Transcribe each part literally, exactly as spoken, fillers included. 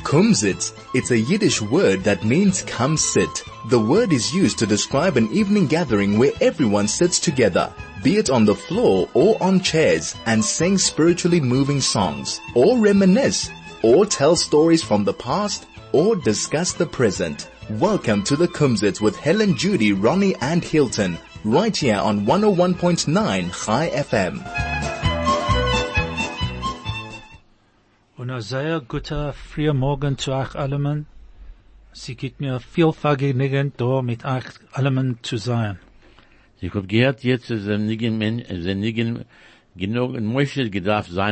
Kumsitz. It's a Yiddish word that means come sit. The word is used to describe an evening gathering where everyone sits together, be it on the floor or on chairs, and sing spiritually moving songs, or reminisce, or tell stories from the past, or discuss the present. Welcome to the Kumsitz with Helen, Judy, Ronnie and Hilton, right here on one oh one point nine Chai F M. Und ein sehr guter früher Morgen zu euch allemen. Sie gibt mir viel Vergnügen, da mit euch allemen zu sein. Ich hab gehört jetzt, dass er nicht genug in Moshe gedarf sein.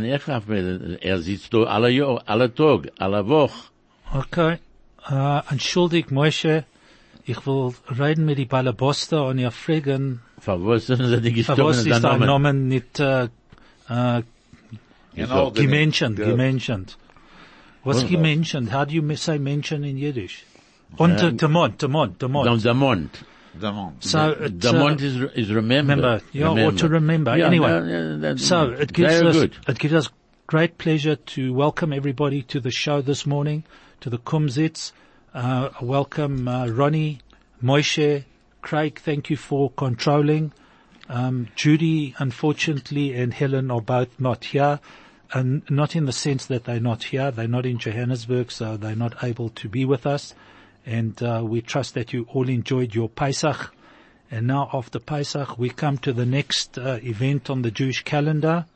Er sitzt da alle Jahr, alle Tag, alle Woche. Okay. Uh, entschuldigt Moshe, ich will reden mit die Balaboster und ihr fragen, was ist dein Name nicht, uh, uh, Genau, gementioned, gementioned. What's Well, gementioned? How do you say mention in Yiddish? Und uh, Demont, Demont, Demont. Demont. Demont. So, it, Demont uh, is, is remember. Remember, yeah, remember. or to remember. Yeah, anyway, no, no, so it gives very us, good. it gives us great pleasure to welcome everybody to the show this morning, to the Kumsitz. Uh, welcome, uh, Ronnie, Moshe, Craig, thank you for controlling. Um, Judy, unfortunately, and Helen are both not here. And not in the sense that they're not here. They're not in Johannesburg, so they're not able to be with us. And uh, we trust that you all enjoyed your Pesach. And now after Pesach, we come to the next uh, event on the Jewish calendar.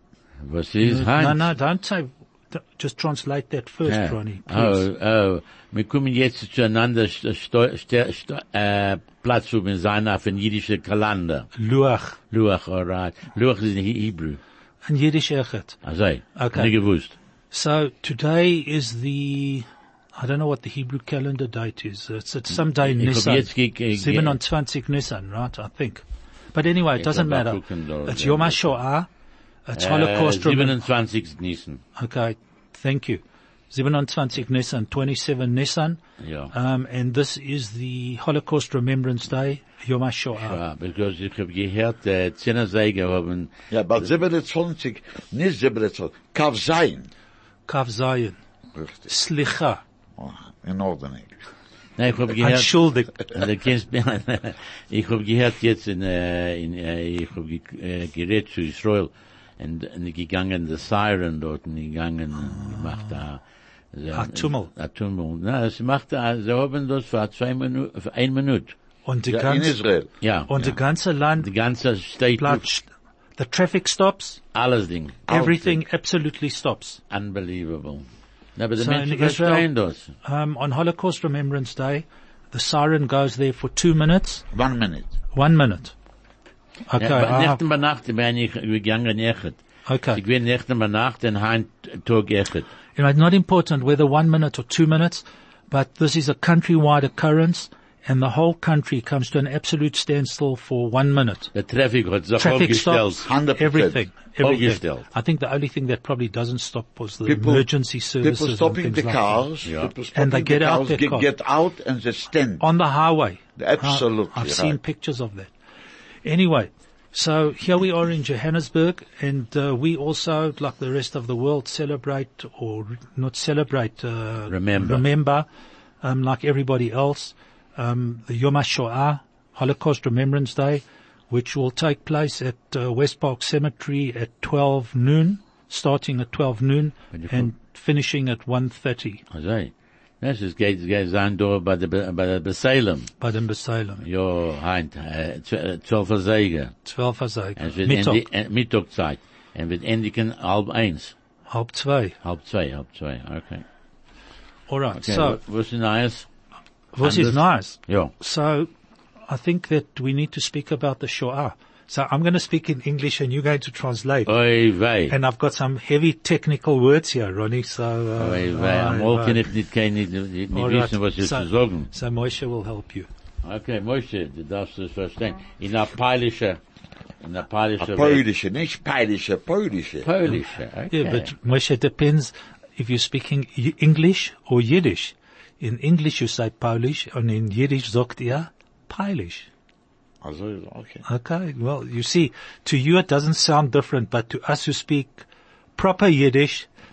Was is No, Heinz? no, don't say, just translate that first, Ja. Ronnie, please. Oh, oh. Wir kommen jetzt zueinander st st st st äh, Platz um sein auf den jüdischen Kalender. Luach. Luach, alright. Luach is in Hebrew. And Yiddish Echet. Also, Okay. nicht gewusst. So today is the, I don't know what the Hebrew calendar date is. It's at some day Ich hab Nisan. jetzt ge- ge- ge- siebenundzwanzig Nisan, right? I think. But anyway, it Ich doesn't hab auch matter. gucken da, It's ja. Yom HaShoah. It's Äh, Holocaust. Rem- siebenundzwanzigsten Nisan. okay. Thank you. siebenundzwanzig Nisan, twenty-seven Nisan. Ja. Um, and this is the Holocaust Remembrance Day, Yom HaShoah. Ja, because ich hab gehört, äh, Zehnersäger haben, Ja, aber siebenundzwanzig, nicht siebenundzwanzig, Kav Zayin. Kav Zayin. Richtig. Slicha. Oh, in Ordnung. nein, ich hab gehört, Entschuldigt. äh, du kennst mich, ich hab gehört jetzt in, äh, in, äh, ich hab ge äh, gerät zu Israel, und, und gegangen, der Siren dort, und gegangen, und gemacht da, so, A Tummel. A Tummel. Na, sie macht da, sie haben das für zwei Minuten, für ein Minute. Und die Ja, in ganze, Israel. Ja. und ja. die ganze Land, Die ganze State, bleibt, the traffic stops, alles Ding. everything absolutely stops. Unbelievable. Na, aber die So Menschen in Israel- verstehen das. Um, on Holocaust Remembrance Day, the siren goes there for two minutes, One minute. one minute. Okay, Ja, aber ah, Nächten bei Nacht bin ich gegangen echt. okay. Ich bin Nächten bei Nacht und ein Tag echt. You know, it's not important whether one minute or two minutes, but this is a countrywide occurrence, and the whole country comes to an absolute standstill for one minute. Der Traffic hat sich Traffic aufgestellt. stops, one hundred percent. everything, everything. Aufgestellt. I think the only thing that probably doesn't stop was the People- emergency services People stopping and the things like cars. Yeah. People stopping And they get the out cars, their get, car. get out and they stand. that. On the highway. Absolutely I- I've right. seen pictures of that. Anyway, so here we are in Johannesburg, and uh, we also, like the rest of the world, celebrate or re- not celebrate, uh, Remember. remember, um, like everybody else, um, the Yom HaShoah, Holocaust Remembrance Day, which will take place at uh, West Park Cemetery at twelve noon, starting at twelve noon When you and finishing at one thirty Also, das ist geht, geht sein da bei der, bei der Besalem. by the Salem. Ja, heint, äh, zwölfer Säger. twelve Hasag. Es wird Mittag, endi- äh, Mittagzeit. Und wird endigen halb eins. halb zwei. Halb zwei, halb zwei, okay. Alright, Okay, so, was ist Neues? this is Anders? nice. Ja. So, I think that we need to speak about the Shoah. So I'm going to speak in English and you're going to translate. Oi, wei. And I've got some heavy technical words here, Ronnie, so... Uh, Oi, wei. Am uh, Morgen uh, kann ich nicht, kann ich nicht, nicht all right. wissen, was ich so, zu sagen. So Moshe will help you. Okay, Moshe, du darfst es verstehen. In der Peilische, in der Peilische A Polish, nicht Polish, a Polish. Peilische, okay. Yeah, but Moshe, depends if you're speaking Y- English or Yiddish. In English you say Polish, and in Yiddish sagt ihr Polish. Also, okay. Okay, well, you see, to you it doesn't sound different, but to us who speak proper Yiddish,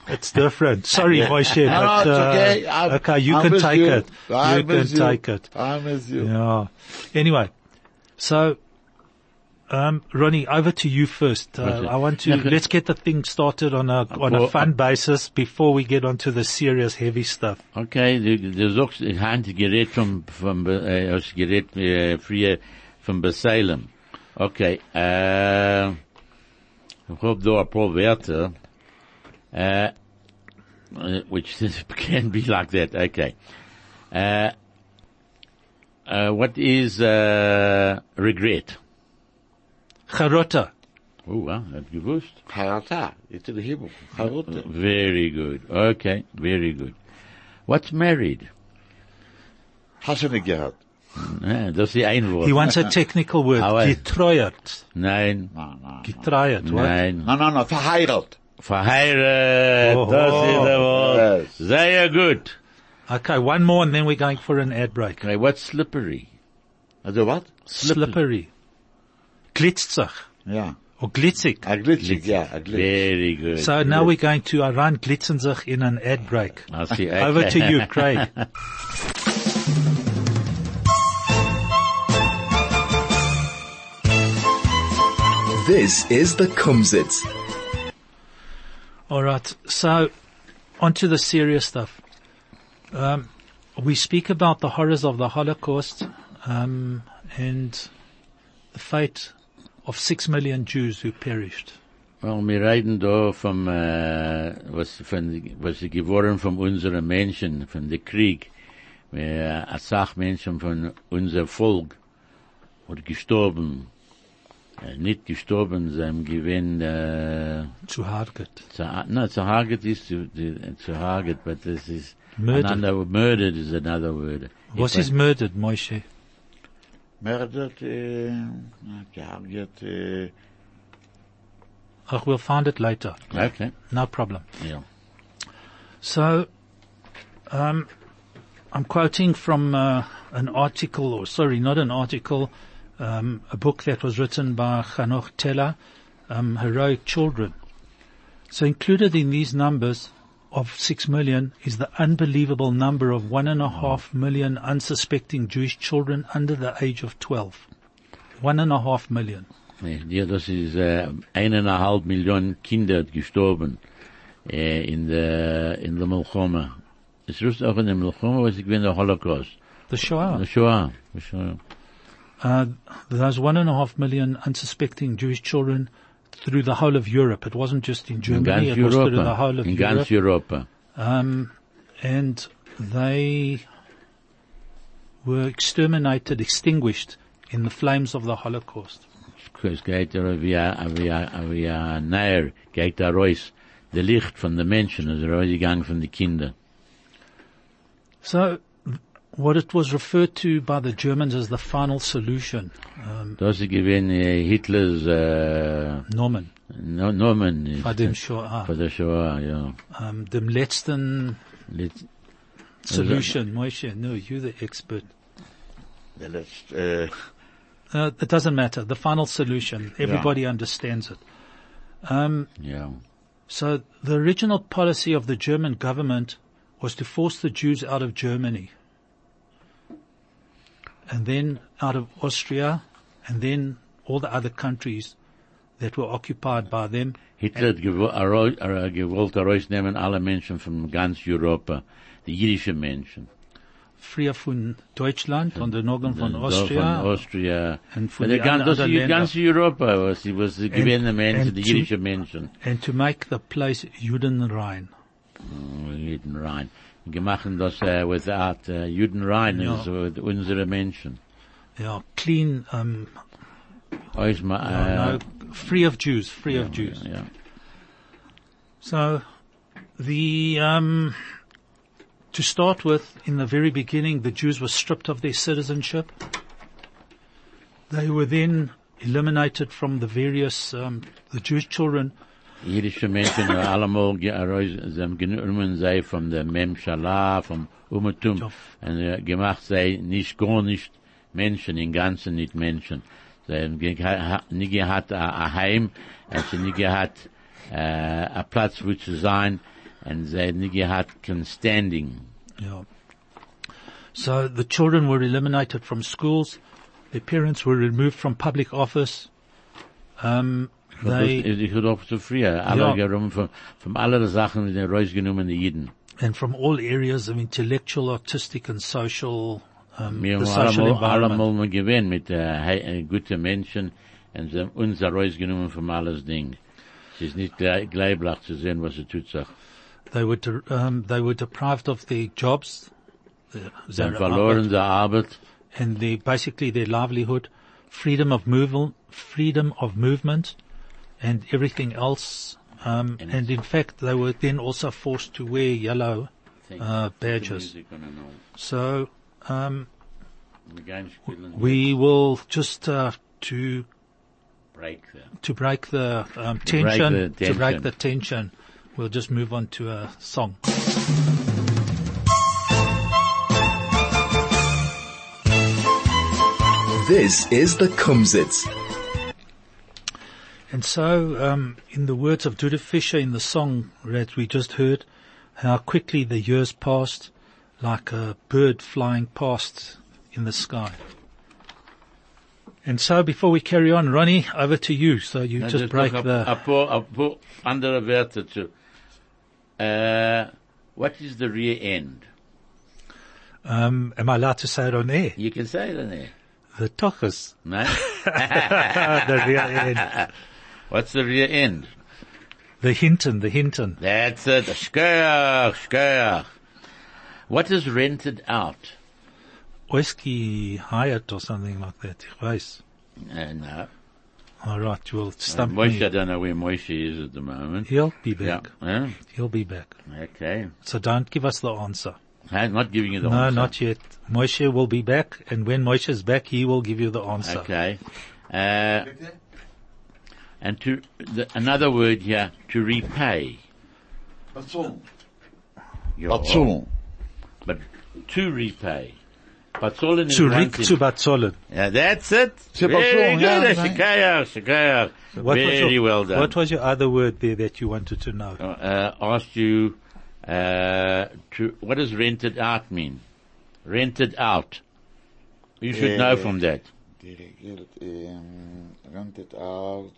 It's different. Sorry, Moshe, No, but, no, it's uh, okay. I'm- okay, you I'm can with take you. it. I'm You can with you. take it. I'm with you. Yeah. Anyway, so, um, Ronnie, over to you first. Uh, What's it? I want to, let's get the thing started on a, on a well, fun basis before we get onto the serious, heavy stuff. Okay, du, du sagst, ich habe Gerät vom, vom, äh, das Gerät, äh, früher von Besalem. Okay, äh, ich hab da ein paar Wörter, äh, which can be like that, okay. Uh, uh, what is, uh, regret? Charota. Oh, wow, that's gewusst. Charata. It's in the Hebrew. Charata. Very good. Okay, very good. What's married? Hast du nicht gehört? Ah, das ist die ein Wort. He wants a technical word. Aber- Getreuert. Nein, Nein, nein. Getreuert, what? nein. Nein, nein, nein, verheiratet. Verheiratet, Oh. das ist der Wort. Yes. Sehr gut. Okay, one more and then we're going for an ad break. Okay, what's slippery? Also was? Slippery. Glitzig. Ja. Or glitzig. A glitschig, ja, a glitschig. Very good. So now we're going to Aran Glitzenzig in an ad break. I see. Over Okay. to you, Craig. This is the Kumzits. All right. So, on to the serious stuff. Um, we speak about the horrors of the Holocaust um, and the fate of six million Jews who perished. Well, wir reden da vom, äh, was, von, was ist geworden von unseren Menschen, von dem Krieg. Wir, a Sach Menschen von unser Volk, oder gestorben, äh, nicht gestorben, sie haben gewinn, äh, Zu Harget. zu, no, zu Haget ist zu, zu, zu Haget, but this is, Murdered. another, murdered is another word. Was It is murdered, Moshe? Murdered, äh, gehargert, äh, Oh, we'll find it later. Okay, No problem. yeah. So, um, I'm quoting from uh, an article, or sorry, not an article, um, a book that was written by Hanoch Teller, um, Heroic Children. So included in these numbers of six million is the unbelievable number of one and a half million unsuspecting Jewish children under the age of twelve. One and a half million. Ja, das ist äh, eineinhalb Millionen Kinder gestorben äh, in der in der Milchoma. Es ist auch in der Milchoma, was ich bin der Holocaust. The Shoah. Der Shoah. Der Shoah. Uh, those one and a half million unsuspecting Jewish children through the whole of Europe. It wasn't just in In Germany, ganz it was through the Europa. whole of In Europe. ganz Europa. Um, and they were exterminated, extinguished in the flames of the Holocaust. Es geht da wie ein, wie ein, wie ein Neuer, geht da raus. Der Licht von den Menschen ist rausgegangen von den Kindern. So, what it was referred to by the Germans as the final solution, um, Das ist gewesen äh, Hitlers äh, Norman, no, Nomen. bei dem Shoah, Für der Shoah, ja. um, dem letzten Letz- solution. Moshe, no, you're the expert. der letzte, äh, Uh, it doesn't matter. The final solution. Everybody understands it. Um, Ja. so the original policy of the German government was to force the Jews out of Germany, and then out of Austria, and then all the other countries that were occupied by them. Hitler hat gewo- aro- er- gewollt herausnehmen alle Menschen von ganz Europa, die jüdischen Menschen. Früher von Deutschland, von der Norden von Da- Austria, Von Austria. und von der den gan- das anderen ist Ländern. ganz Europa, was sie, was sie gewähnen Menschen, and die to- jüdischen Menschen. and to make the place Judenrein. Oh, Judenrein. Gemacht das uh, without uh, Judenrein, Ja. also with unsere Menschen. Yeah, clean, um, Euch mal, no, uh, free of Jews, free of Jews. ja. So, the, um, to start with, in the very beginning, the Jews were stripped of their citizenship. They were then eliminated from the various, um, the Jewish children, Jüdische Menschen haben allemal ge- heraus- sie haben genommen sei von der Memshala, vom Umetum, Ja. und äh, gemacht sei nicht gar nicht Menschen, im Ganzen nicht Menschen. Sie haben ge- ha- nie gehabt ein Heim, also nie gehabt äh, ein Platz, wo zu sein. and they nigga had can standing. Yeah. So the children were eliminated from schools. Their parents were removed from public office. Um, they, ich würde auch zu früher, alle genommen von, von aller Sachen, die rausgenommen, die Jiden. And from all areas of intellectual, artistic and social, um, Wir the haben social allemal, environment. allemal gewähnt mit, äh, guten Menschen, und sie haben uns rausgenommen von alles Ding. Es ist nicht gleich, gleich zu sehen, was sie tut, sagt. They were, de- um, they were deprived of their jobs. Their, Sie haben their verloren Arbeit, die Arbeit. and their, basically their livelihood, freedom of movement, freedom of movement, and everything else. Um, And and in fact, they were then also forced to wear yellow uh, badges. So um, we will just uh, to break the to break the um, To break tension, the to break tension. the tension. We'll just move on to a song. This is the Kumzits. And so, um, in the words of Judith Fisher in the song that we just heard, how quickly the years passed, like a bird flying past in the sky. And so, before we carry on, Ronnie, over to you. So you Na, just das break noch the. a, a paar, a paar andere Wörter zu. Uh, what is the rear end? Um, am I allowed to say it on air? You can say it in there. The tochus. No? The rear end. What's the rear end? The Hinton, the Hinton. That's it. Shkoyach, shkoyach. What is rented out? Oiski hired or something like that. Ich weiß. Uh, no. All right, you will Uh, stump Moshe, I me. don't know where Moshe is at the moment. He'll be Yeah. back. Huh? He'll be back. Okay. So don't give us the answer. I'm not giving you the No, answer. not yet. Moshe will be back, and when Moshe is back, he will give you the answer. Okay. Uh, and to, the, another word here, to repay. Batzon. Yeah. Batzon. But to repay. Batzolin is Zurück one thing. zu Batzolen. Yeah, that's it. Zu Very Batzolin, good. yeah, Shikayach, shikayach. What was Very your- well done. What was your other word there that you wanted to know? Uh, asked you, uh, to, what does rented out mean? Rented out. You should Uh, know from that. Delegiert, um, rented out.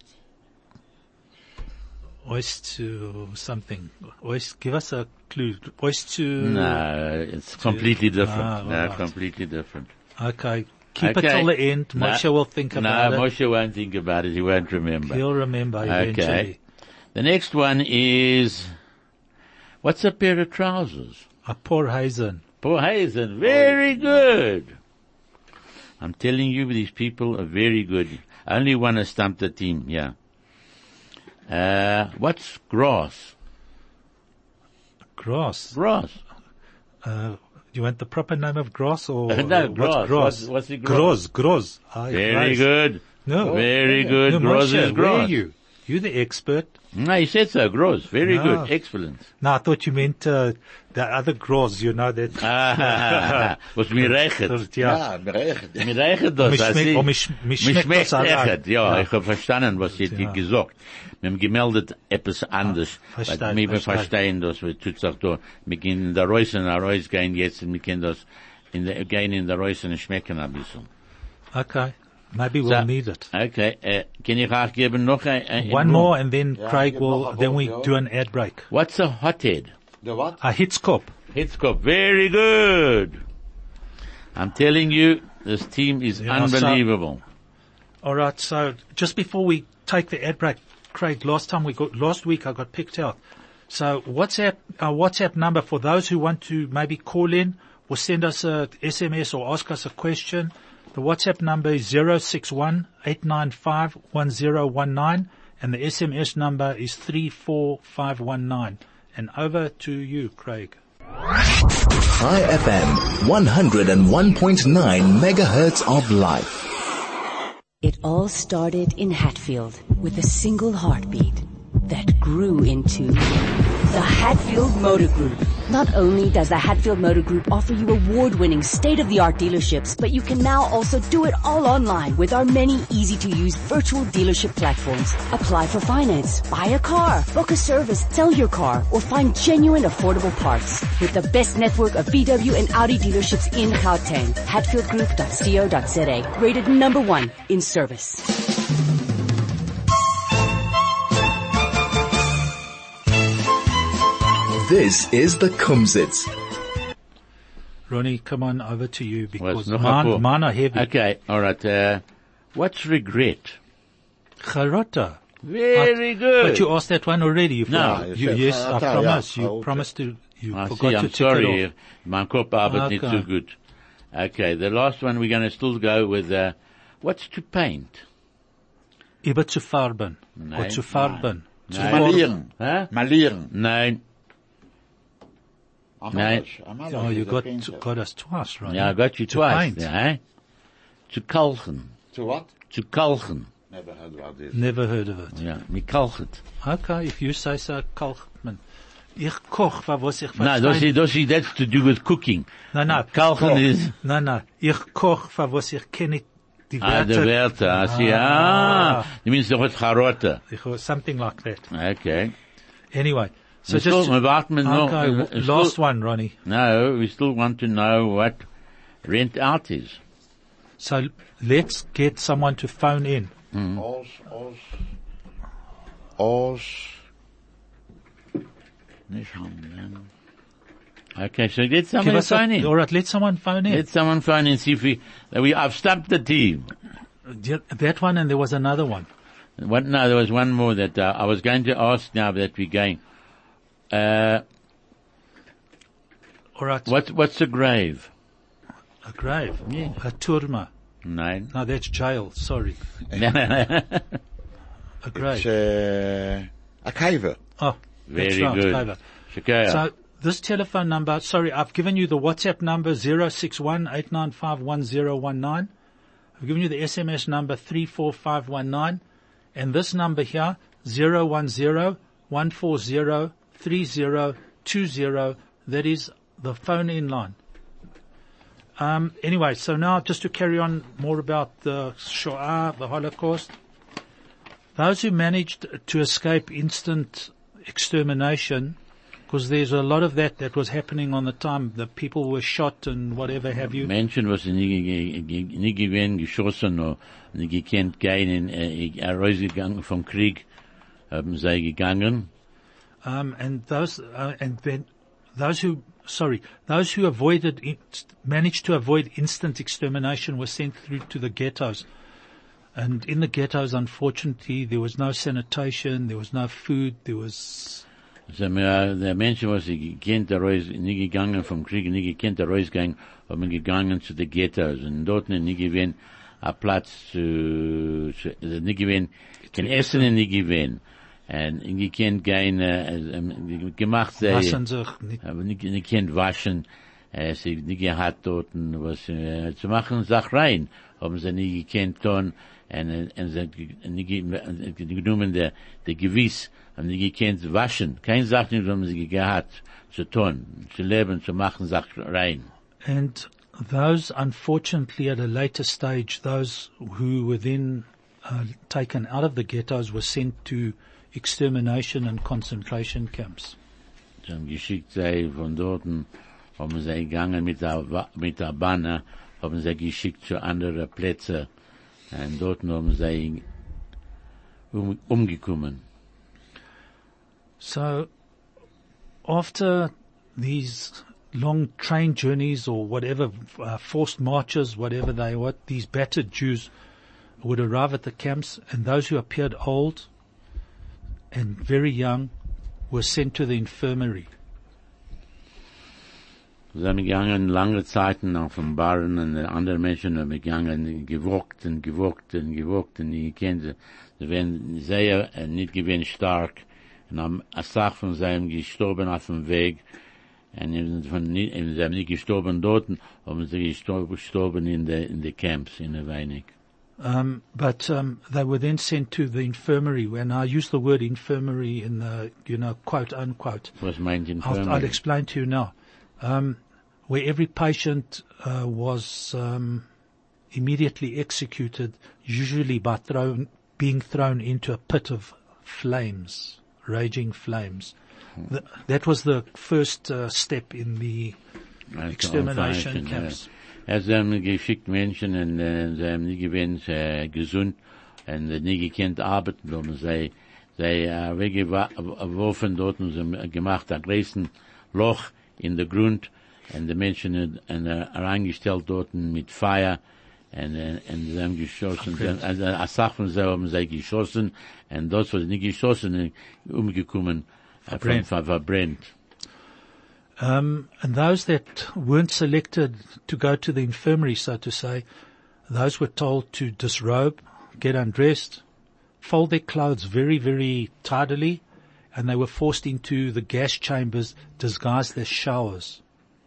Ois to something. Ois, give us a clue. Ois to. No, it's completely different. Ah, no, alright. completely different. Okay. Keep Okay. it till the end. No. Moshe will think about no, it. Moshe won't think about it. He won't remember. He'll remember eventually. Okay. The next one is, what's a pair of trousers? A poor Hazen. Poor Hazen. Very good. I'm telling you, these people are very good. Only one has stumped the team, yeah. Uh, what's grass? Grass. Grass. Uh, you want the proper name of grass or? No, what's grass. grass? What's- what's the grass? Gross, gross. Ah, Very grass. good. No. Very good. No, Grass Moshe, is where are grass. you? You're the expert. No, he said so. Gross. Very No. good. Excellent. No, I thought you meant, uh, the other grass, you know that. Ah, was mir reichet. Ja. Ja, bereicht. Mir reichet das. Mich I schmeckt- see. oh, mich- mich Mich schmeckt schmeckt das auch an. echt. Ja, Ja. ich habe verstanden, was ihr Ja. gesagt. Wir haben gemeldet etwas anders. verstehe, Weil wir verstehe. verstehen das, wir tut sich da. Wir gehen in der Reus und der Reus gehen jetzt und wir können das in der, gehen in der Reus und schmecken ein bisschen. Okay. Maybe we'll So, need it. Okay, äh, kann ich auch geben noch ein, ein One more and then Ja, Craig gib will, noch ein then we Wort, ja. do an ad break. What's a hothead? Der wat? A Hitzkop. Hitzkopf, very good. I'm telling you, this team is Yeah, so- unbelievable. Alright, so just before we take the ad break, Craig, last time we got, last week I got picked out. So WhatsApp, our WhatsApp number for those who want to maybe call in or send us a S M S or ask us a question. The WhatsApp number is zero six one eight nine five one zero one nine and the S M S number is three four five one nine. And over to you, Craig. High F M, one oh one point nine megahertz of life. It all started in Hatfield with a single heartbeat that grew into the Hatfield Motor Group. Not only does the Hatfield Motor Group offer you award-winning state-of-the-art dealerships, but you can now also do it all online with our many easy-to-use virtual dealership platforms. Apply for finance, buy a car, book a service, sell your car, or find genuine affordable parts. With the best network of V W and Audi dealerships in Gauteng. hatfield group dot co dot za. Rated number one in service. This is the Kumzits. Ronnie, come on over to you because Well, mine, mine are heavy. Okay, all right. Uh, what's regret? Charota. Very good. But you asked that one already. You No. forgot. You You, said yes, I charota, promise. yeah. You Okay. promised to, you I forgot see, to I'm tick it sorry. off. My Kopf arbeitet nicht Okay. so good. Okay, the last one we're going to still go with, uh, what's to paint? Über zu farben. Nein. Or zu farben. Zu Nein. farben. Malieren. Huh? Malieren. Nein. I'm Nein. English. I'm Oh, English. you It's a got, painter. got us twice, right? Yeah, I got you To twice. paint. Yeah, eh? Zu kalchen. To what? Zu kalchen. Never heard about this. Never heard of it. Ja, nie kalchet. Okay, if you say so, Kalkman. Ich koch, wa was ich No, verstehe. das ist, das ist, that's to do with cooking. Nein, nein. Kalchen is, Nein, nein. Ich koch, wa was ich kenne die ah, Werte. the Werte. I see, ah. You mean the word charota. Ich was something like that. Okay. Anyway. So We just, still, we warten mit noch, okay, uh, w- still- last one, Ronnie. No, we still want to know what rent out is. So let's get someone to phone in. Os, os, os. Nicht haben, Okay, so get Give someone to us a- phone in. all right, let someone phone in. Let someone phone in, see if we, that we, I've stumped the team. Yeah, that one, and there was another one. What, no, there was one more that, uh, I was going to ask now that we're going, uh, All right. what, what's the grave? A grave. Yeah. A turma. Nein. No, that's jail. Sorry. No, no, no. A grave. It's uh, a caver. Oh, Very that's right. good. Clever. Shakaya. So this telephone number, sorry, I've given you the WhatsApp number zero six one eight nine five one zero one nine. I've given you the S M S number three four five one nine. And this number here, zero one zero one four zero three zero two zero. That is the phone in line. Um, anyway, so now just to carry on more about the Shoah, the Holocaust. Those who managed to escape instant extermination, because there's a lot of that that was happening on the time. The people were shot and whatever have you. Menschen, was sie nie, ge- ge- nie gewesen, geschossen, oder nie gekannt gehen, in, äh, rausgegangen vom Krieg, haben sie gegangen. Um, and those, uh, and then those who, sorry, those who avoided, in, managed to avoid instant extermination were sent through to the ghettos. And in the ghettos, unfortunately, there was no sanitation, there was no food, there was, So, mir, der Menschen, was sie gekannt, raus, nie gegangen vom Krieg, nie gekannt, rausgegangen, haben gegangen zu den Ghettos. Und dort nie gewesen, a Platz zu, zu nie gewesen, kein Essen nie gewesen. Und nie gekannt gehen, äh, gemacht, sei, waschen sich nicht. aber nicht, nicht kennt waschen, äh, sie nicht gehabt dort, was, äh, zu machen, Sach rein, haben sie nie gekannt tun, und, und sie nicht ge- genommen der, der Gewiss, haben nie gekannt waschen, kein Sach nicht, haben sie gehabt, zu tun, zu leben, zu machen, Sach rein. And those, unfortunately, at a later stage, those who were then uh, taken out of the ghettos were sent to extermination and concentration camps. Sie haben geschickt, sie von dort, haben sie gegangen mit der, Wa- mit der Banner, haben sie geschickt zu anderen Plätzen, und dort haben sie um, umgekommen. So, after these long train journeys or whatever, uh, forced marches, whatever they were, these battered Jews would arrive at the camps, and those who appeared old and very young were sent to the infirmary. Sie haben gegangen lange Zeiten auf dem Barren, und andere Menschen haben gegangen, gewogt und gewogt und gewogt, und die kennen sie. Sie werden sehr, äh, nicht gewinn stark, und haben eine Sache von seinem gestorben auf dem Weg, und von, nicht- und sie haben nicht gestorben dort, haben sie gestorben, gestorben in der, in der Camps, in der Weinig. Um, but um, they were then sent to the infirmary. When I use the word infirmary in the, you know, quote unquote, Was meint infirmary? I'll, I'll explain to you now. Um, where every patient uh, was um, immediately executed, usually by thrown, being thrown into a pit of flames, raging flames. Hmm. The, that was the first uh, step in the Als extermination Operation, camps. Ja. Er haben geschickt Menschen und äh, sie haben nie gewinnt äh, gesund und äh, nie gekannt arbeiten, haben sie, sie äh, weggeworfen dort und sie haben gemacht ein größten Loch in der Grund und die Menschen haben äh, reingestellt dort mit Feuer und, äh, und sie haben geschossen. Okay. Also eine Sache von sie haben sie geschossen und das, was nicht geschossen ist, umgekommen, äh, Verbrennt. ver- verbrennt. Um, and those that weren't selected to go to the infirmary, so to say, those were told to disrobe, get undressed, fold their clothes very, very tidily, and they were forced into the gas chambers disguised as showers.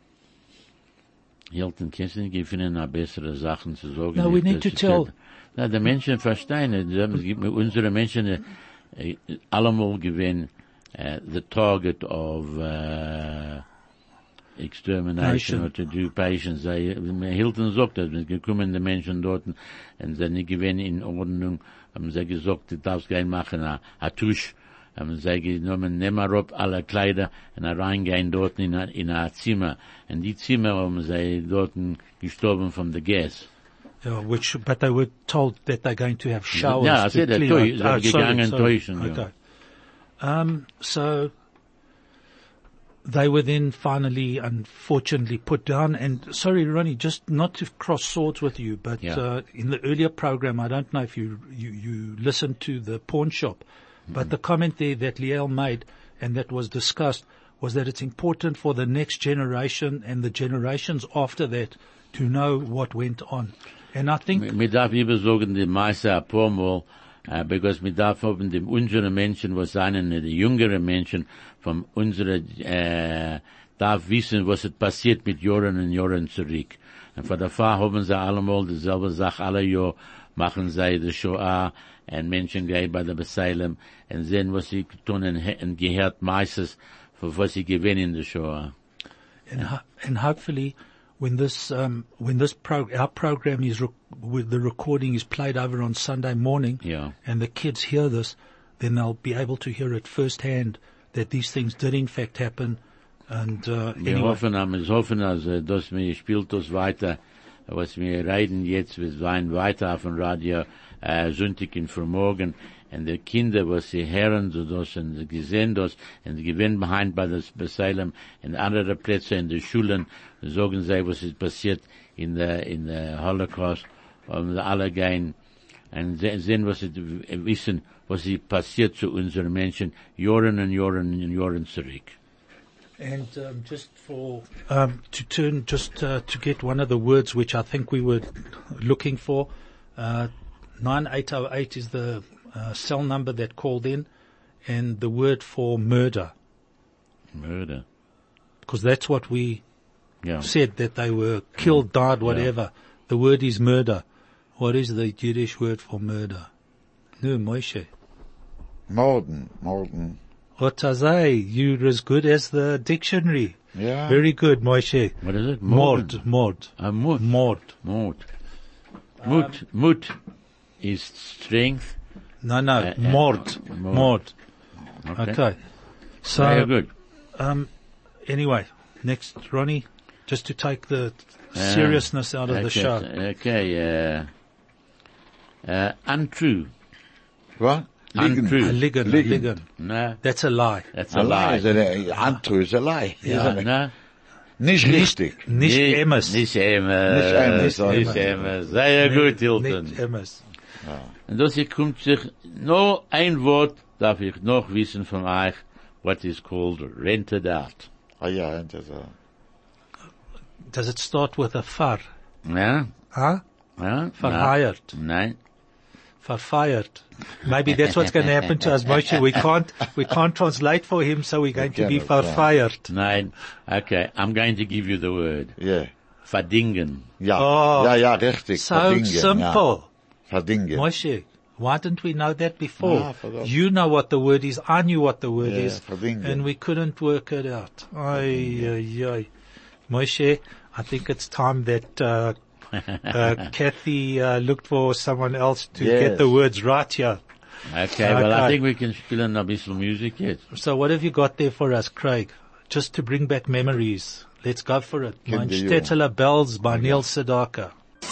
Hilton, kannst du nicht gefunden, eine bessere Sachen zu sagen? No, we Nicht, need dass to ich tell- sag- Na, die Menschen verstehen, es gibt unsere Menschen, äh, allemal gewinnen, äh, the target of, äh, extermination Nation. or to do patients. They, Hilton sagt das, es gekommen die Menschen dort, und sie nicht gewinnen in Ordnung, haben sie gesagt, du darfst gehen machen, a, a Tusch, haben sie genommen, nehmen wir ab alle Kleider, und reingehen dort in a, in a Zimmer, und die Zimmer haben sie dort gestorben von der Gas. Yeah, which, but they were told that they're going to have showers. Yeah, I to said that, clean too. out. They were Oh, sorry, gegangen sorry. täuschen, yeah. Okay. Um, so they were then finally, unfortunately, put down. And sorry, Ronnie, just not to cross swords with you, but Yeah. uh, in the earlier program, I don't know if you you, you listened to the pawn shop, but the comment there that Liel made and that was discussed was that it's important for the next generation and the generations after that to know what went on. And I think Wir darf lieber sagen, die meiste ein paar Mal, uh, because wir darf haben die unsere Menschen, was seien die jüngere Menschen von unsere, äh, darf wissen, was ist passiert mit Jahren und Jahren zurück. Und von der Fall haben sie allemal dieselbe Sache, alle Jahr machen sie die Shoah, und Menschen gehen bei der Beseilung, und sehen, was sie tun, und, und gehört meistens, für was sie gewinnen in der Shoah. and, ho- and hopefully when this um, when this pro- our program is rec- with the recording is played over on Sunday morning, Yeah. and the kids hear this, then they'll be able to hear it firsthand that these things did in fact happen. And uh, Wir anyway, hoffen, wir hoffen, also, dass mir spielt das weiter, was wir reden jetzt, wir sein weiter auf dem Radio, äh, Sonntag in Vermorgen, und die Kinder, was sie hören, so das, und sie gesehen das, und sie gewinnen behind bei das Beseilem, und andere Plätze in den Schulen, sagen sie, was ist passiert in der, in der Holocaust, und alle gehen, und se- sehen, was sie wissen, was ist passiert zu unseren Menschen, Jahren und Jahren und Jahren zurück. and um, just for um, to turn just uh, to get one of the words which I think we were looking for, uh, nine eight oh eight is the uh, cell number that called in, and the word for murder, Murder. because that's what we Yeah. said, that they were killed, died, whatever. The word is murder. What is the Yiddish word for murder? No, Moshe. Morden, Morden. What I say? You're as good as the dictionary. Yeah. Very good, Moshe. What is it? Mord, mord, A mut. mord. Mut. Mut. Mut is strength. No, no, Uh, uh, mord, mord. mord. Okay. Okay. Very So, good. um, anyway, next, Ronnie, just to take the seriousness out of okay, the show. Okay, uh, uh, untrue. What? Untrue. A ligon, a Ligon. ligon. No, That's a lie. that's A a lie. lie. Is a, untrue is a lie. Ja, Isn't it? no. Nicht richtig. Nicht Nee, emes. Nicht emes. Nicht emes, Nicht sorry. emes. Sehr gut, Hilton. Nicht emes. Und das hier kommt sich, nur ein Wort darf ich noch wissen von euch, what is called rented out. Ah ja, das ist a... Does it start with a far? Ja? Huh? Ja? Verhired. Nein. Verfired. Maybe that's what's going to happen to us, Moshe. We can't, we can't translate for him, so we're going to be cannot, yeah. verfired. Nein. Okay, I'm going to give you the word. Yeah. Verdingen. Ja, Oh. ja, ja, richtig. So Verdingen, simple. Ja. Verdingen. Moshe, why didn't we know that before? Ah, I forgot. You know what the word is, I knew what the word Yeah, is, verdingen. and we couldn't work it out. Ay, ay, ay. Moshe, I think it's time that, uh, uh, Kathy, uh, looked for someone else to Yes. get the words right here. Okay, well, I Okay. think we can spill in a bit of music yet. So what have you got there for us, Craig? Just to bring back memories. Let's go for it. Mein Kinder, Stetteler Bells by Neil Sedaka.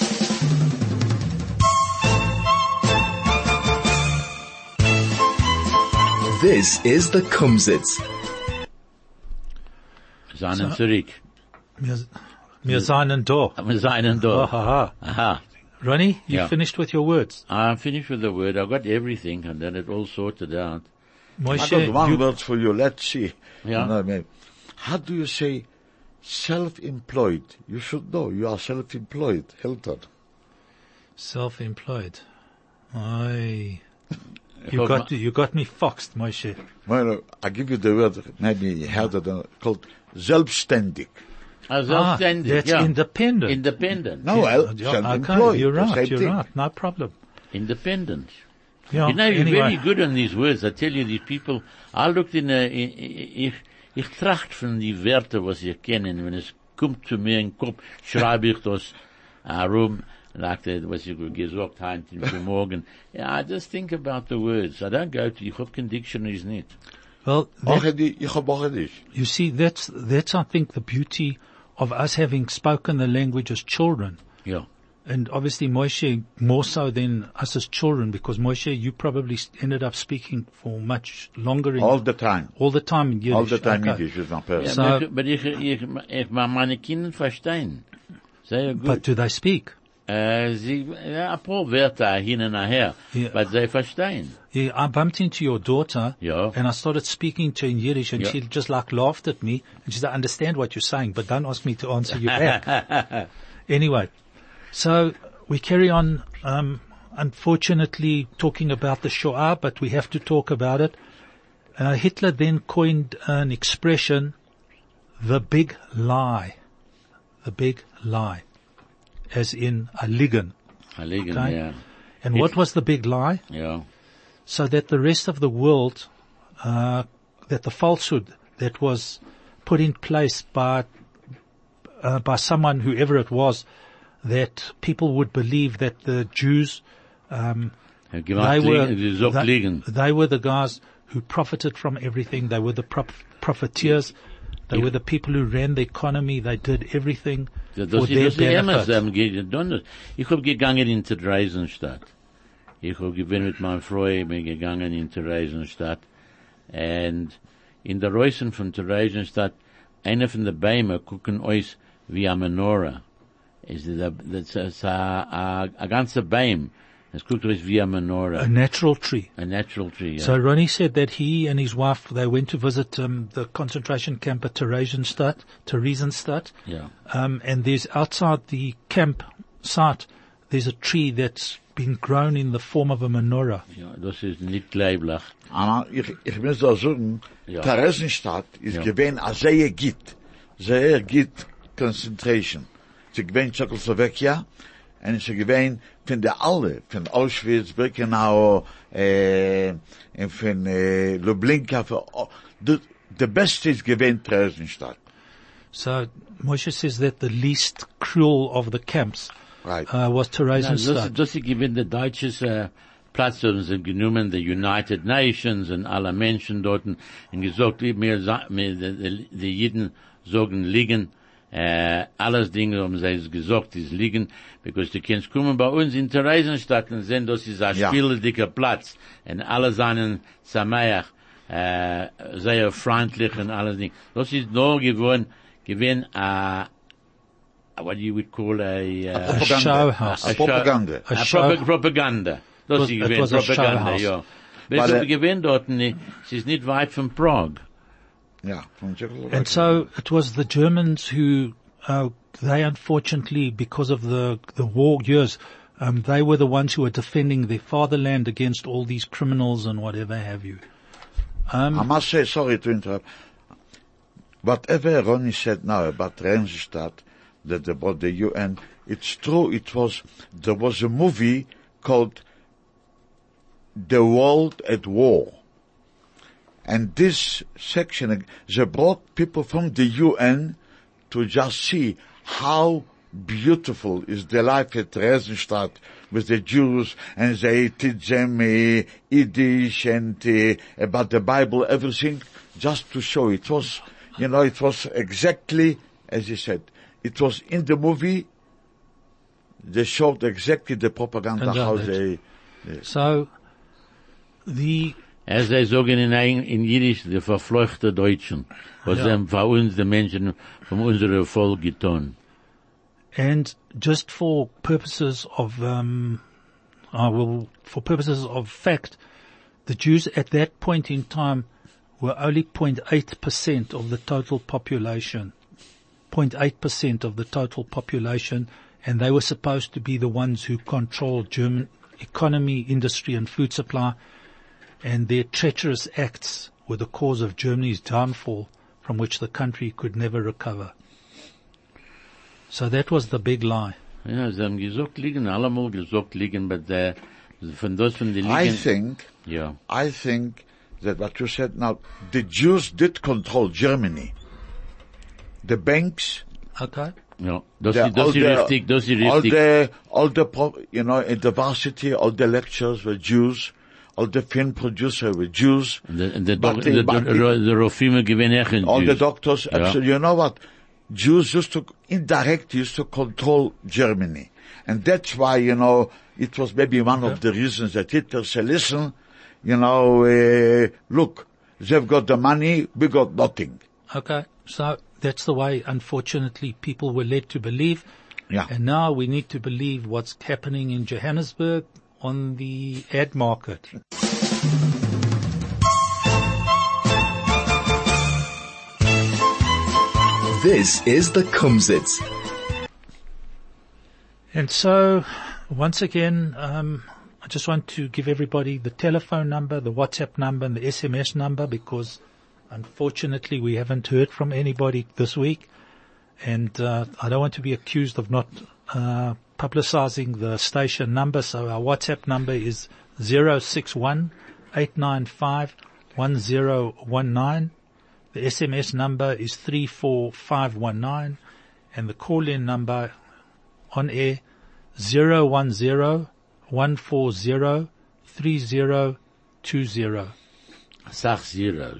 This is the Kumsitz. Seinen zurück. Wir, wir seien da. Wir seinen Ha, da. ha, ha. Aha. Ronnie, you Yeah. finished with your words. I'm finished with the word. I got everything and then it all sorted out. I got Moshe, one you, word for you. Let's see. Yeah. You know, maybe. How do you say self-employed? You should know. You are self-employed. Hilton. self-employed. Aye. Ich You hab got, ma- you got me foxed, Moshe. Well, I give you the word. Maybe you heard it uh, called selbstständig. Ah, Ah, selbstständig, that's ja. independent. Independent. No, well, Yeah, self-employed. okay, you're the right, same you're thing. right, no problem. Independent. Yeah, You know, you're anyway. very good on these words. I tell you, these people, I looked in, a, ich, ich tracht von die Wörter, was ich kenne, wenn es kommt zu mir in den Kopf, schreibe ich das herum, like that, was ich gesagt habe, für morgen. Yeah, I just think about the words. I don't go to, ich hab kein dictionaries nicht. Well, Ach, that, die, ich hab auch nicht. you see, that's, that's, I think, the beauty of us having spoken the language as children. Ja. And obviously Moshe more so than us as children, because Moshe, you probably s- ended up speaking for much longer in, All the time. all the time in Yiddish. All the time Okay. Yiddish is my person. Ja, So- aber ich, aber ich, ich, ich, meine Kinder verstehen. Sehr gut. But do they speak? Äh, sie, ja, ein paar Wörter hin und her, Ja. aber sie verstehen. Yeah, I bumped into your daughter, Yeah. and I started speaking to her in Yiddish, and Yeah. she just like laughed at me, and she said, I understand what you're saying, but don't ask me to answer you back. Anyway, so we carry on, um, unfortunately talking about the Shoah, but we have to talk about it. Uh, Hitler then coined an expression, the big lie. The big lie. As in a ligan. Liegen, Okay. ja. And It- what was the big lie? Ja. So that the rest of the world, uh, that the falsehood that was put in place by, uh, by someone, whoever it was, that people would believe that the Jews, um, Er they gemacht were, liegen, sie sagt they, liegen. they were the guys who profited from everything. They were the prof- profiteers. They Yeah. were the people who ran the economy. They did everything Das for ist, their das ist immer benefit. so, am gegangen. Ich hab gegangen in Theresienstadt. Ich hab gewinn mit meiner Frau, bin gegangen in Theresienstadt. Und in der Reusen von Theresienstadt, einer von den Bäumen gucken euch wie a Menorah. Es ist a, das ist a, a, a ganzer Baum. Es guckt euch wie a Menorah. A natural tree. A natural tree, yeah. So Ronnie said that he and his wife, they went to visit um, the concentration camp at Theresienstadt, Theresienstadt, yeah. um, and there's outside the camp site, there's a tree that's been grown in the form of a menorah. Ja, das ist nicht leiblich. Aber ich, ich muss da sagen, Ja. Theresienstadt ist Ja. gewesen a sehr gut, sehr gut concentration. Sie gewesen Czechoslovakia, und sie gewesen von der alle, von Auschwitz, Birkenau, äh, und von äh, Lublinka, von, oh, the, the best is gewesen Theresienstadt. So Moshe says that the least cruel of the camps Right. uh, was Ja, das, Theresienstadt. das ist gewinn der deutsches äh, Platz, haben sie genommen, die United Nations und alle Menschen dort und gesagt, mir, sa- mir die, die, die Jiden sagen liegen, äh, alles Dinge haben sie gesagt, ist liegen, because die kannst kommen bei uns in Theresienstadt und sehen, das ist ein Ja. spieldicker Platz und alle seien Sameach, äh, sehr freundlich und alles Dinge. Das ist nur geworden, gewinn, äh, what you would call a, uh, A show house. A propaganda. A A show- Propa- Propaganda. Das was- ist it gewesen, was a Propaganda, showhouse. ja. But, Weil uh, sie gewesen dort, ne, es ist nicht weit von Prag. Ja, von Czechoslovakia. And so it was the Germans who, uh, they unfortunately, because of the, the war years, um, they were the ones who were defending their fatherland against all these criminals and whatever have you. I must say, sorry to interrupt. Whatever Ronnie said now about Theresienstadt, that about the U N, it's true. It was there was a movie called The World at War. And this section, they brought people from the U N to just see how beautiful is the life at Theresienstadt with the Jews, and they teach them uh, Yiddish and uh, about the Bible, everything, just to show. It was, you know, it was exactly as you said. It was in the movie. They showed exactly the propaganda how they. Uh, so, the As they sagen in, in Yiddish, die verfluchte Deutschen, was Ja. haben für uns die Menschen von unserem Volk getan. And just for purposes of, um, uh, well, for purposes of fact, the Jews at that point in time were only zero point eight percent of the total population. zero point eight percent of the total population, and they were supposed to be the ones who controlled German economy, industry and food supply, and their treacherous acts were the cause of Germany's downfall, from which the country could never recover. So that was the big lie. Ja, sie haben gesagt liegen, allemal gesagt liegen, but the, von das von den liegen. I think, Ja. I think that what you said now, the Jews did control Germany. The banks, Okay? Ja, das the, ist, das all ist the, richtig, das ist all richtig. the, all the, pro, you know, in the varsity, all the lectures were Jews, all the film producers were Jews, Und der, und der, But Dok- the- der, but der, the- der Rofime gewinnen echt in all the Jews. doctors, Ja. absolutely, you know what? Jews used to, indirectly used to control Germany. And that's why, you know, it was maybe one of the reasons that Hitler said, listen, you know, uh, look, they've got the money, we got nothing. Okay, so that's the way, unfortunately, people were led to believe. Yeah. And now we need to believe what's happening in Johannesburg on the ad market. This is the Kumzits. And so, once again, um, I just want to give everybody the telephone number, the WhatsApp number, and the S M S number, because unfortunately we haven't heard from anybody this week. And uh, I don't want to be accused of not uh, publicizing the station number. So our WhatsApp number is zero six one eight nine five one zero one nine. The S M S number is three four five one nine, and the call-in number on air zero one zero one four zero three zero two zero. Sach zeros.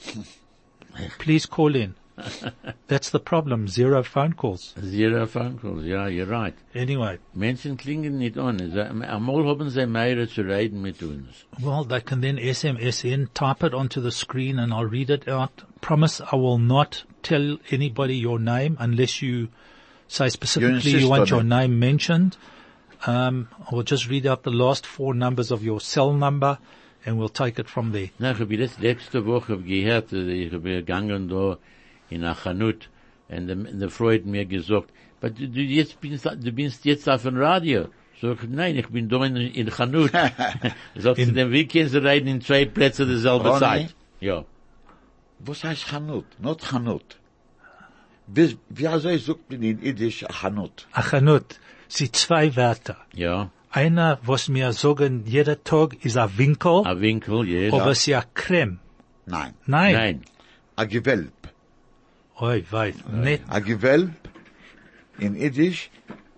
Please call in. That's the problem. Zero phone calls. Zero phone calls. Ja, you're right. Anyway, Menschen klingen nicht an. Sie- Einmal haben sie mehr zu reden mit uns. well, they can then S M S in, type it onto the screen, and I'll read it out. Promise I will not tell anybody your name unless you say specifically you, insist want on your it. name mentioned. Um, I will just read out the last four numbers of your cell number, and we'll take it from there. Na, ich habe jetzt letzte Woche gehört, äh, ich habe gegangen da in a Chanut, und der, der Frau hat mir gesagt, aber du, du jetzt bist, du bist jetzt auf dem Radio. Sag ich, nein, ich bin da in, in Chanut. Sagt sie, dann wie können Sie reden in zwei Plätzen derselbe Ronny? Zeit? Ja. Was heißt Chanut? Not Chanut. Wie, wie also ich sucht man in Yiddish Chanut? Achanut, sie zwei Wörter. Ja. Einer, was mir sagen, jeder Tag ist ein Winkel, A Winkel, yes. aber es ist ja Creme. Nein. Nein. Nein. A Gewölb. Oi, weit. Nicht. A Gewölb in Yiddish,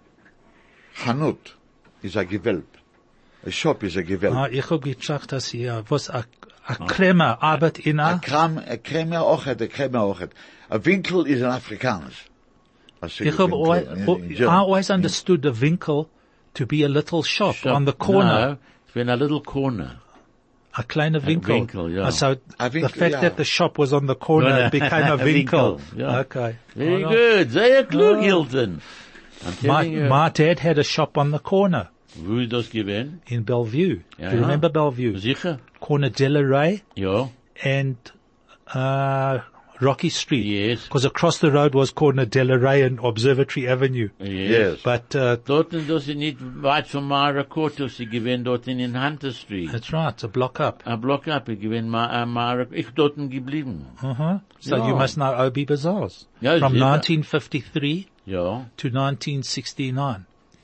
Chanut is a Gewölb. A shop is a Gewölb. Ah, ich hab gedacht, dass ihr, was a, a Creme arbeit in A a, Kram, a Creme ochet, a Creme ochet. A Winkel is an Afrikaans. A ich hab Winkel always, in- in I German. always understood the Winkel to be a little shop, on the corner, No, it's been a little corner. a kleiner Winkel. Winkel, ja. Ah, so A the Winkel, fact ja. that the shop was on the corner No, no. became a A Winkel. Winkel, ja. Okay. Very Oh, no. good. Sehr klug, Oh. Hilton. I'm My, telling you. my dad had a shop on the corner Wo ist das gewesen? in Bellevue. Ja, Do you ja. remember Bellevue? Sicher? Corner Delaray Ja. and, uh, Rocky Street. Yes. Because across the road was corner Delaray and Observatory Avenue. Yes. But, uh, Dort, das ist nicht weit von Marakoto, sie gewesen dort in Hunter Street. that's right, it's a block up. A Block up, ich gewesen Ma, Mara, ich dort geblieben. Uh-huh. So Ja. you must know O B Bazaars. Ja, From sicher. nineteen fifty-three Ja. to nineteen sixty-nine.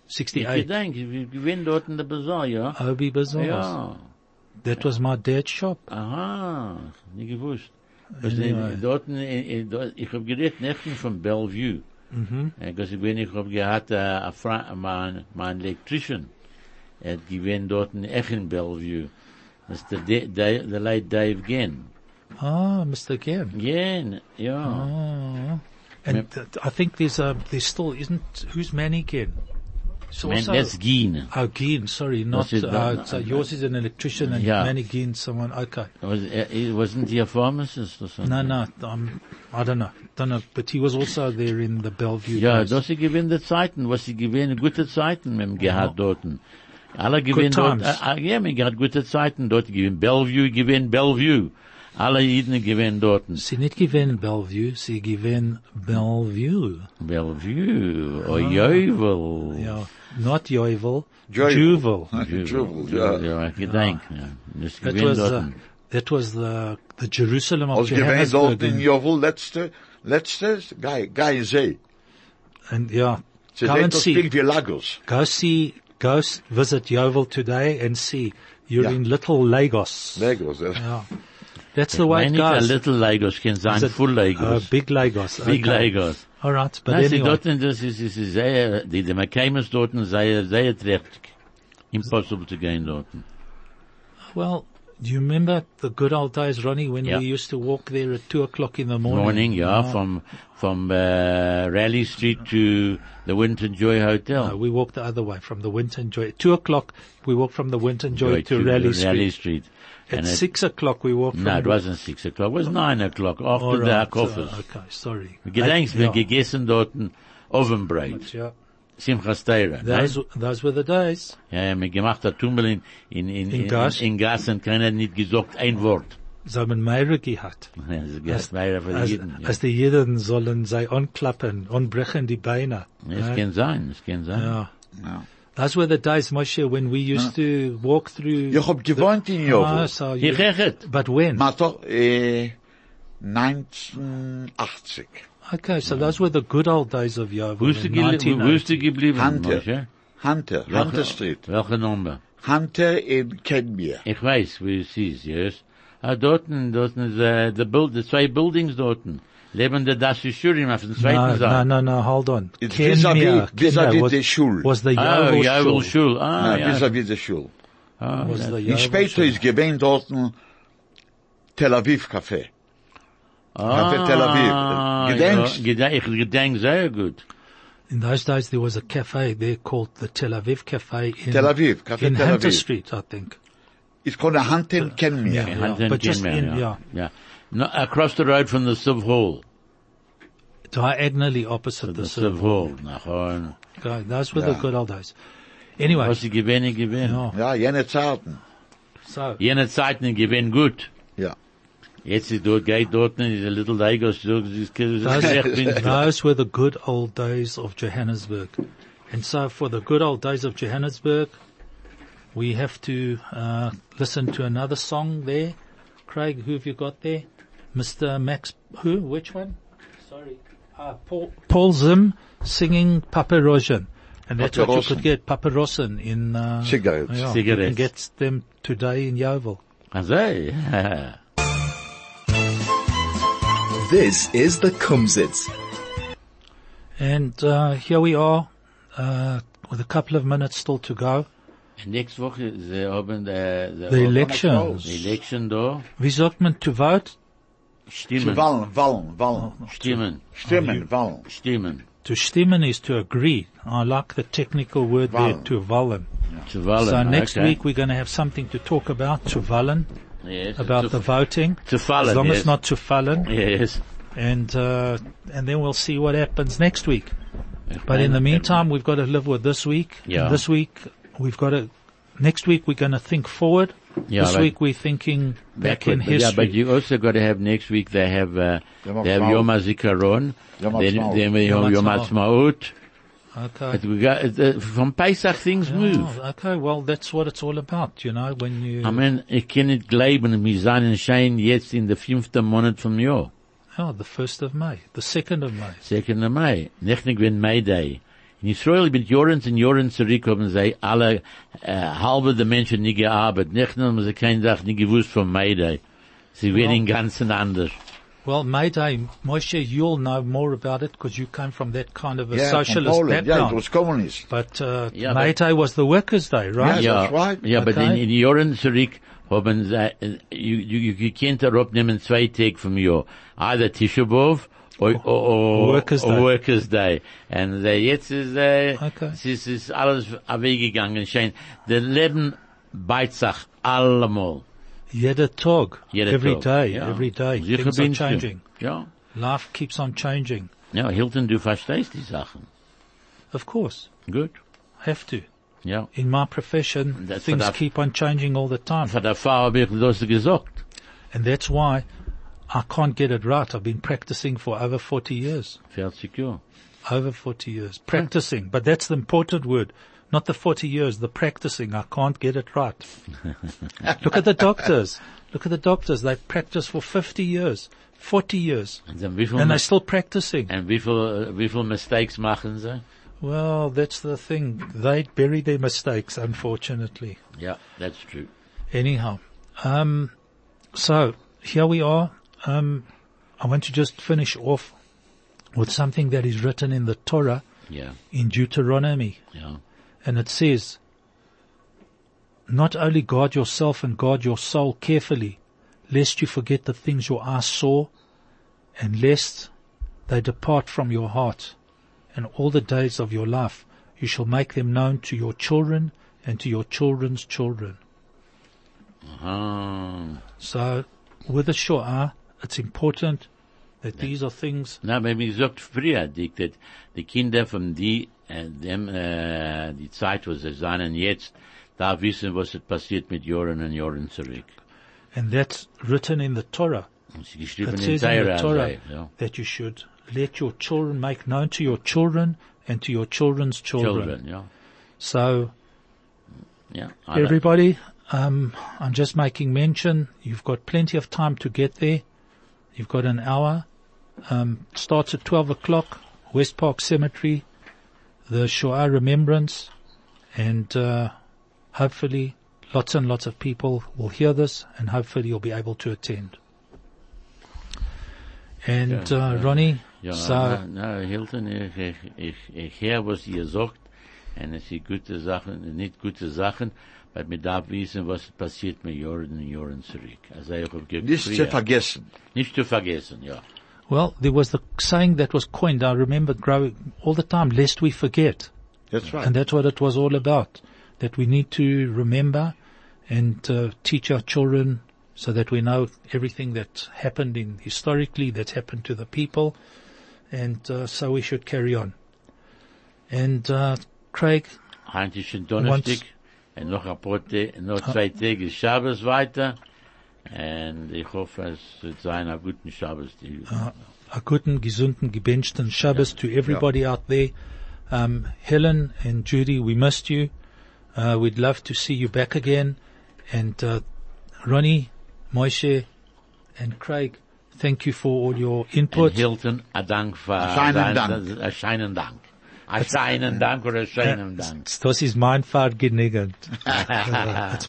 Ich sixty-eight. denke, wir gewinnen dort in der Bazaar, ja? Obi Bazaars. Ja. That was my dad's shop. Aha, nicht gewusst. Was Anyway. in- dort, in- in- dort, ich hab geredet, nicht von Bellevue. Mhm. Ich bin, ich hab gehabt, äh, a Fra- mein, mein Electrician, er hat gewinnt dort in echt in Bellevue. Das ist der, der, der, der late Dave Genn. Ah, Mister Genn. Genn, ja. Oh. And th- I think there's a, there's still, isn't, who's Manny Genn? It's Man, also- that's Gien. Oh, Geen, sorry, not, is uh, that- so yours is an electrician and Yeah. Manny Geen, someone, okay. Was, er, er- wasn't he a pharmacist or something? No, no, um, I don't know, don't know, but he was also there in the Bellevue. Ja, days. das sie gewinnen die Zeiten, was sie gewinnen, gute Zeiten mit dem gehabt dorten. Alle gewinnen dort, times. äh, äh, ja, man hat gute Zeiten dort gewinnen. Bellevue gewinnen Bellevue. Alle Jeden gewinnen dorten. Sie nicht gewinnen Bellevue, sie gewinnen Bellevue. Bellevue, oh Jeuvel. Ja, not Joivel, Joivel. Juvel. Juvel, ja. Ja, ich gedenk, ja. Das That gewinnen was, uh, dorten. that was the, the Jerusalem of Als gewähnt dort Johannesburg. in And, Jovel, letzte, letzte, Guy, Guy See. and yeah, Sie go sehen and das see, big wie Lagos. go see, go s- visit Jovel today and see, you're Yeah. in little Lagos. Lagos, ja. Yeah. That's the way Nein, it nicht a goes. little Lagos, kann sein Is it- full Uh, Lagos. big Lagos. Big okay. Lagos. All right, but Nein, sie anyway. dorten, das ist, ist, ist sehr, die, die McCamus dorten, sehr, sehr trächtig. Impossible zu gehen dorten. Well, do you remember the good old days, Ronnie, when Yeah. we used to walk there at two o'clock in the morning? Morning, ja, Ah, from, from, uh, Raleigh Street to the Winton Joy Hotel. no, we walked the other way from the Winton Joy. Two o'clock, we walked from the Winton Joy, to, Raleigh Street. Raleigh Street. At And it- six o'clock, we walked No, from it wasn't six o'clock. It was nine o'clock All after the right, coffers. uh, okay, sorry. Gedenkst, wir Yeah. gegessen dort ein Ovenbreit. Yeah. Simchas Teira. Those, those were the days. Ja, ja, mir gemacht hat Tummel in, in, in, In Gas? in, in Gas und keiner hat nicht gesagt ein Wort. So man Meire gehabt. Ja, das ist mehr für die Als, Jeden. Ja. als die Jeden sollen sie anklappen, anbrechen die Beine. Es Right? kann sein, es kann sein. Yeah. Ja. Those were the days, Moshe, when we used to walk through. Ich hab gewohnt in Ah, Jovel. so you, Ich hechet. but when? Maar toch, eh, neunzehnhundertachtzig. Okay, so those were the good old days of Yeovil. Wo ist du in gele- nineteen wo ist du eighty. geblieben, Hunter. Moshe? Hunter, Hunter Street. Welche Nummer? Hunter in Kenmere. Ich weiß, wo es ist, yes. Ah, dorten, dorten ist, äh, the build, the zwei Buildings dorten. Leben der Dashishurim auf dem No, zweiten no, Seite. no, no, hold on. It's Kenmere, vis-à-vis- vis-à-vis Kenmere was, the Schul. was the Ah, Yeovil Jovel Shul. Schul. Ah, Na, ja. vis-à-vis der Schule. Ah, Was ja. the Und Yeovil später Shul. ist gewähnt dort ein Tel Aviv Café. Ah, Café Tel Aviv. Gedenkst? Ja, gedenk, ich gedenk sehr gut. In those days, there was a cafe there called the Tel Aviv Cafe in, Tel Aviv, Café in Tel Hunter Aviv. Street, I think. It's called a Hunter in Kenmere. Yeah. In Hunter but just Kenmare, in- yeah. yeah. Yeah. No, across the road from the Civ Hall. Diagonally opposite The the Civ Civ Hall. Nachon. Okay, those were the Yeah. good old days. Anyway, Was sie gewinnen, gewinnen. ja, Ja, jene Zeiten. so, Jene Zeiten gewinnen gut. Ja. Jetzt ist dort, geht dort, ist a little Lagos, so, sie ist, those, those were the good old days of Johannesburg. And so for the good old days of Johannesburg, we have to uh, listen to another song there. Craig, who have you got there? Mister Max, who? Which one? Sorry. Uh, Paul, Paul Zim singing Papa Rosen. And that's what you Paparossen. could get, Papa Rosen in, uh, Cigarettes. yeah, Cigarettes. You can get them today in Yeovil. Also, ja. This is the Kumzits. And, uh, here we are, uh, with a couple of minutes still to go. Next Woche, sie haben, äh, The elections. the election da, Wie sagt man to vote? Zu stimmen, wallen, wallen, wallen. stimmen, Stimmen, wallen. stimmen, To stimmen is to agree. I like the technical word there, Wallen. to wallen. zu wollen. So next okay. week we're going to have something to talk about, to wallen, Yes, about zu, the voting. zu fallen, As long yes. as not to fallen. Yes. And, uh, and then we'll see what happens next week. But in the meantime, we've got to live with this week. Yeah. And this week, we've got to, next week we're going to think forward. Yeah, this like- week we're thinking back in Backward, but yeah, history. but you also got to have next week. They have uh, Yom they have Ha'atzmaut. Yom HaZikaron, Yom then Ha'atzmaut. then we have Yom Yom Ha'atzmaut. Ha'atzmaut. Okay. But we got uh, from Pesach things move. Oh, okay, well, that's what it's all about, you know, when you, I mean, ich kann nicht glauben, wir seien Schein jetzt in der fünften Monat vom Jahr, oh, the first of May, the second of May. second of May. Nicht nicht wenn May Day. In Israel mit Jahren und Jahren zurück haben sie alle äh, halbe der Menschen nicht gearbeitet. Nicht nur haben sie keine Sache nicht gewusst von Mayday. Sie werden im Ganzen anders. Well, Mayday, Moshe, you'll know more about it because you come from that kind of a Yeah, from socialist Poland. background. Yeah, it was communist. But uh, Yeah, Mayday was the Workers' Day, right? Yeah, Ja, that's right. ja, aber Okay. in, in Jahren zurück haben sie, äh, you, you, you can't abnehmen zwei Tage vom Jahr. Either Tisha B'Av or, or, or, Workers' or Day. Workers' Day. Und äh, jetzt ist, äh, Okay. es ist, es ist alles weggegangen. Schein. Der Leben beißt sich allemal. Jeder Tag, Jeder every Tag. day, Ja. every day. Sicher Things are bin's du. changing. Ja. Life keeps on changing. Ja, Hilton, du verstehst die Sachen. Of course, Gut. have to. Ja. In my profession, That's things what I've- keep on changing all the time. Von der Frau habe ich das gesagt. And that's why I can't get it right. I've been practicing for over forty years. vierzig Jahre. Over forty years. Practicing. But that's the important word. Not the forty years, the practicing. I can't get it right. Look at the doctors. Look at the doctors. They practice for fifty years, forty years. Und dann wie viel, And they're still practicing. und wie viel, wie viel Mistakes machen sie? Well, that's the thing. They bury their mistakes, unfortunately. Yeah, that's true. Anyhow, um, so here we are. Um, I want to just finish off with something that is written in the Torah Yeah, in Deuteronomy. yeah. And it says, not only guard yourself and guard your soul carefully, lest you forget the things your eyes saw, and lest they depart from your heart. And all the days of your life you shall make them known to your children and to your children's children. Ah. So, with the Shoah, it's important that these are things. Na, wenn mir gesagt früher, die, die, die Kinder von die, äh, dem, äh, die Zeit, wo sie seien jetzt, da wissen, was ist passiert mit Jahren und Jahren zurück. And that's written in the Torah. Und sie geschrieben It in says in the Torah, Torah sei, ja. that you should let your children make known to your children and to your children's children. Children, ja. So, Ja, alle. everybody, um, I'm just making mention, you've got plenty of time to get there. You've got an hour. Um, starts at twelve o'clock, West Park Cemetery, the Shoah Remembrance, and uh, hopefully lots and lots of people will hear this, and hopefully you'll be able to attend. And Ja, uh, ja. Ronnie, Ja, so na, na, Hilton, ich, ich, ich, ich höre, was ihr sagt, und es sind gute Sachen, nicht gute Sachen, weil mir darf wissen, was passiert mit Jahren und Jahren zurück. Also ich habe gesagt, Nicht zu früher- vergessen. Nicht zu vergessen, ja. well, there was the saying that was coined. I remember growing all the time, lest we forget. That's right. And that's what it was all about, that we need to remember and uh, teach our children so that we know everything that happened in historically, that's happened to the people, and uh, so we should carry on. And uh, Craig, Heute ist schon Donnerstag, und noch ein paar Tage, noch zwei Tage ist Shabbos weiter, und ich hoffe, es wird sein ein guten Shabbos. Die, a guten, gesunden, gebenchten Shabbos to everybody out there. Um, Helen and Judy, we missed you. Uh, we'd love to see you back again. And uh, Ronnie, Moshe, and Craig, thank you for all your und input. Hilton, ein Dank für, Ein scheinen sein- Dank. Ein scheinen Dank. Ein scheinen Dank oder ein scheinen Dank. Das ist mein Fall genügend. It's